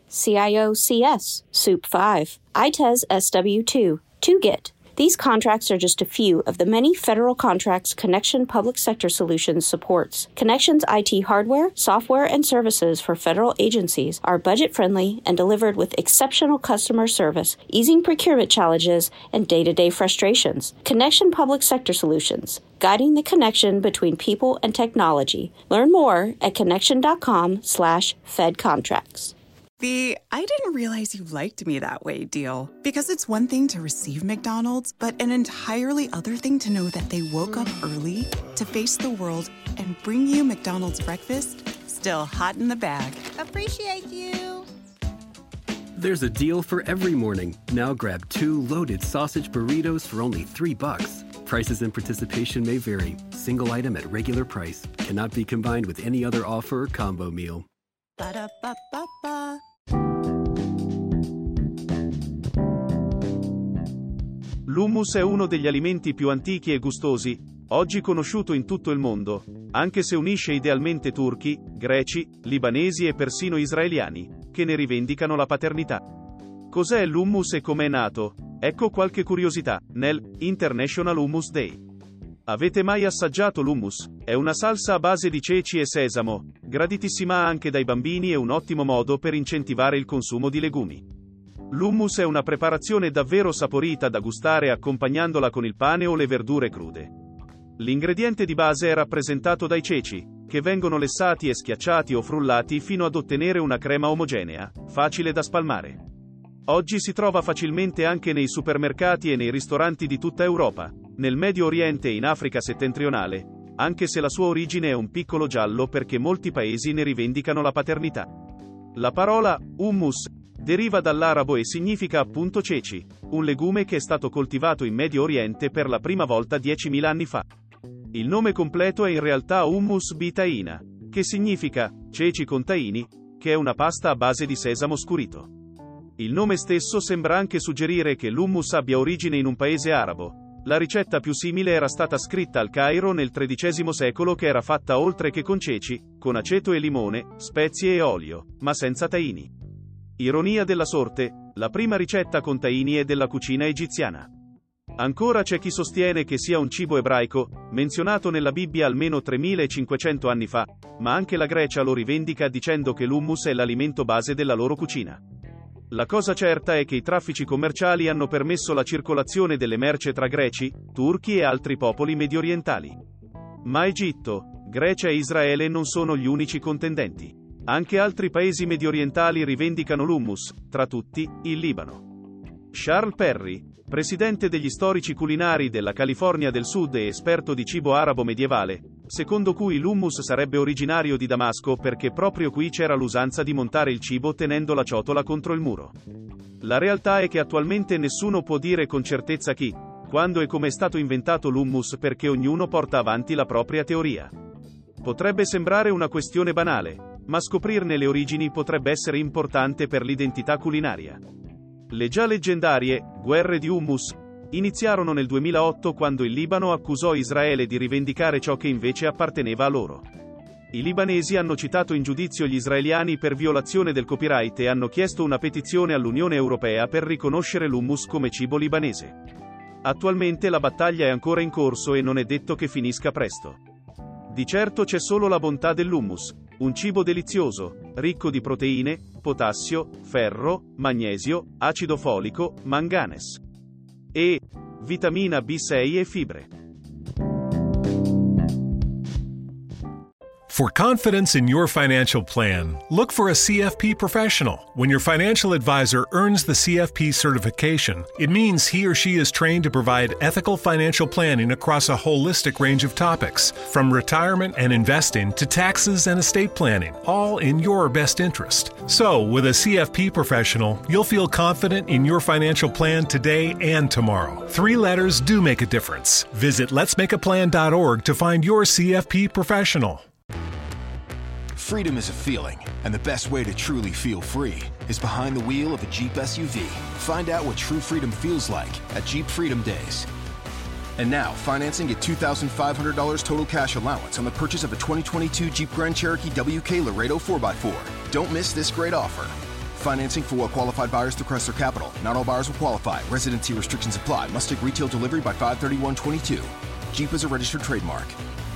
CIOCS, SOUP 5, ITES SW2, 2GIT. These contracts are just a few of the many federal contracts Connection Public Sector Solutions supports. Connection's IT hardware, software, and services for federal agencies are budget-friendly and delivered with exceptional customer service, easing procurement challenges and day-to-day frustrations. Connection Public Sector Solutions, guiding the connection between people and technology. Learn more at connection.com/fedcontracts. The "I didn't realize you liked me that way" deal. Because it's one thing to receive McDonald's, but an entirely other thing to know that they woke up early to face the world and bring you McDonald's breakfast still hot in the bag. Appreciate you. There's a deal for every morning. Now grab 2 loaded sausage burritos for only $3. Prices and participation may vary. Single item at regular price. Cannot be combined with any other offer or combo meal. Ba-da-ba-ba-ba. L'hummus è uno degli alimenti più antichi e gustosi, oggi conosciuto in tutto il mondo, anche se unisce idealmente turchi, greci, libanesi e persino israeliani, che ne rivendicano la paternità. Cos'è l'hummus e come è nato? Ecco qualche curiosità, nel International Hummus Day. Avete mai assaggiato l'hummus? È una salsa a base di ceci e sesamo, graditissima anche dai bambini e un ottimo modo per incentivare il consumo di legumi. L'hummus è una preparazione davvero saporita da gustare accompagnandola con il pane o le verdure crude. L'ingrediente di base è rappresentato dai ceci, che vengono lessati e schiacciati o frullati fino ad ottenere una crema omogenea, facile da spalmare. Oggi si trova facilmente anche nei supermercati e nei ristoranti di tutta Europa, nel Medio Oriente e in Africa settentrionale, anche se la sua origine è un piccolo giallo perché molti paesi ne rivendicano la paternità. La parola hummus deriva dall'arabo e significa appunto ceci, un legume che è stato coltivato in Medio Oriente per la prima volta 10.000 anni fa. Il nome completo è in realtà hummus bitaina, che significa ceci con tahini, che è una pasta a base di sesamo scurito. Il nome stesso sembra anche suggerire che l'hummus abbia origine in un paese arabo. La ricetta più simile era stata scritta al Cairo nel XIII secolo, che era fatta oltre che con ceci, con aceto e limone, spezie e olio, ma senza tahini. Ironia della sorte, la prima ricetta con tahini è della cucina egiziana. Ancora c'è chi sostiene che sia un cibo ebraico, menzionato nella Bibbia almeno 3500 anni fa, ma anche la Grecia lo rivendica dicendo che l'hummus è l'alimento base della loro cucina. La cosa certa è che i traffici commerciali hanno permesso la circolazione delle merci tra greci, turchi e altri popoli mediorientali. Ma Egitto, Grecia e Israele non sono gli unici contendenti. Anche altri paesi mediorientali rivendicano l'hummus, tra tutti, il Libano. Charles Perry, presidente degli storici culinari della California del Sud e esperto di cibo arabo medievale, secondo cui l'hummus sarebbe originario di Damasco perché proprio qui c'era l'usanza di montare il cibo tenendo la ciotola contro il muro. La realtà è che attualmente nessuno può dire con certezza chi, quando e come è stato inventato l'hummus perché ognuno porta avanti la propria teoria. Potrebbe sembrare una questione banale, ma scoprirne le origini potrebbe essere importante per l'identità culinaria. Le già leggendarie guerre di hummus iniziarono nel 2008 quando il Libano accusò Israele di rivendicare ciò che invece apparteneva a loro. I libanesi hanno citato in giudizio gli israeliani per violazione del copyright e hanno chiesto una petizione all'Unione Europea per riconoscere l'hummus come cibo libanese. Attualmente la battaglia è ancora in corso e non è detto che finisca presto. Di certo c'è solo la bontà dell'hummus, un cibo delizioso, ricco di proteine, potassio, ferro, magnesio, acido folico, manganes e vitamina B6 e fibre. For confidence in your financial plan, look for a CFP professional. When your financial advisor earns the CFP certification, it means he or she is trained to provide ethical financial planning across a holistic range of topics, from retirement and investing to taxes and estate planning, all in your best interest. So, with a CFP professional, you'll feel confident in your financial plan today and tomorrow. 3 letters do make a difference. Visit letsmakeaplan.org to find your CFP professional. Freedom is a feeling, and the best way to truly feel free is behind the wheel of a Jeep SUV. Find out what true freedom feels like at Jeep Freedom Days. And now, financing at $2,500 total cash allowance on the purchase of a 2022 Jeep Grand Cherokee WK Laredo 4x4. Don't miss this great offer. Financing for well-qualified buyers through Chrysler Capital. Not all buyers will qualify. Residency restrictions apply. Must take retail delivery by 5/31/22. Jeep is a registered trademark.